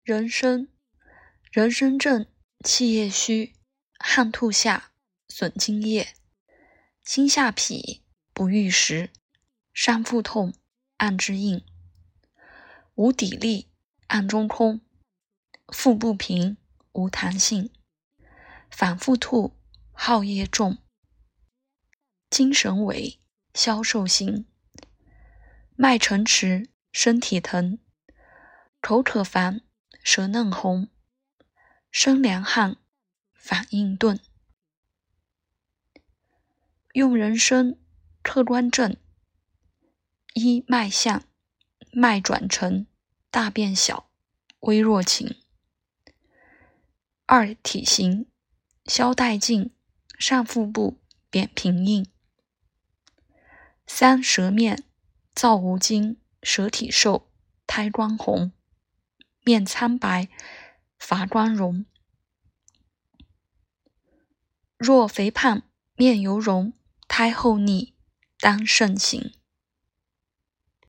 人参，人参症，气液虚，汗吐下，损津液，心下痞，不欲食，上腹痛，按之硬，无底力，按中空，腹不平，无弹性，反复吐，耗液重，精神萎，消瘦形，脉沉迟，身体疼，口渴烦，舌嫩红，生凉汗，反应钝。用人参客观症：一、脉象，脉转沉，大便小，微弱情。二、体型，消带劲，上腹部扁平硬。三、舌面，燥无精，舌体瘦，苔光红，面苍白，乏光荣。若肥胖，面油溶，苔厚腻，当慎行。